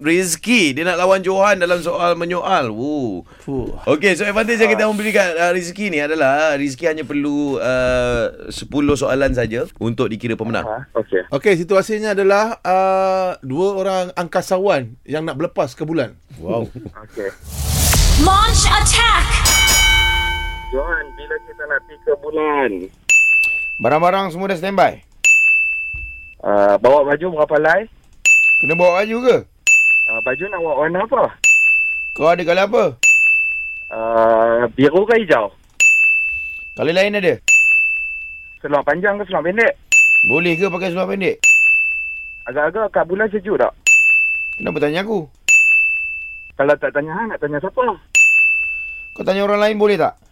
Rizky. Dia nak lawan Johan dalam soal menyoal. Okey, so advantage yang kita memberi kat Rizky ni adalah Rizky hanya perlu 10 soalan saja untuk dikira pemenang. Okey, situasinya adalah dua orang angkasawan yang nak berlepas ke bulan. Wow. Okey. Launch attack! Johan, bila kita nak pergi ke bulan? Barang-barang semua dah standby. Bawa baju berapa lai? Kena bawa baju ke? Baju nak bawa warna apa? Kau ada colour apa? Biru ke hijau? Colour lain ada? Seluar panjang ke seluar pendek? Boleh ke pakai seluar pendek? Agak-agak kat bulan sejuk tak? Kenapa tanya aku? Kalau tak tanya Han, nak tanya siapa? Kau tanya orang lain boleh tak?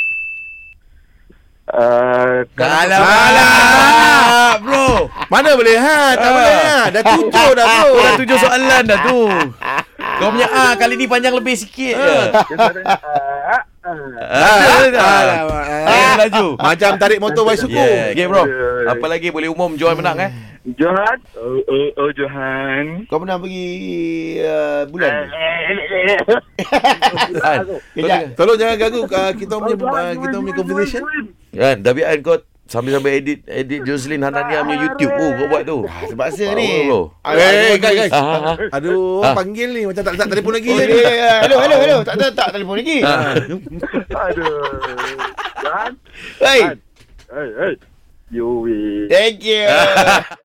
Alah, bro. Mana boleh tak boleh Dah 7 dah bro. Dah 7 soalan dah tu. Kau punya kali ni panjang lebih sikit je. Laju. Macam tarik motor bicycle. Yeah. Okay bro. Apa lagi boleh umum Johan menang Johan? Johan. Kau pernah pergi bulan? Kejap. Tolong jangan ganggu kita punya conversation. Kan, tapi kau sambil edit Jocelyn Hanania punya YouTube. Kau buat tu. Terpaksa ni. Guys. Aduh, panggil ni macam tak telefon lagi. Hello. Tak telefon lagi. Aduh. Johan? Hey. Hey. You win. Thank you.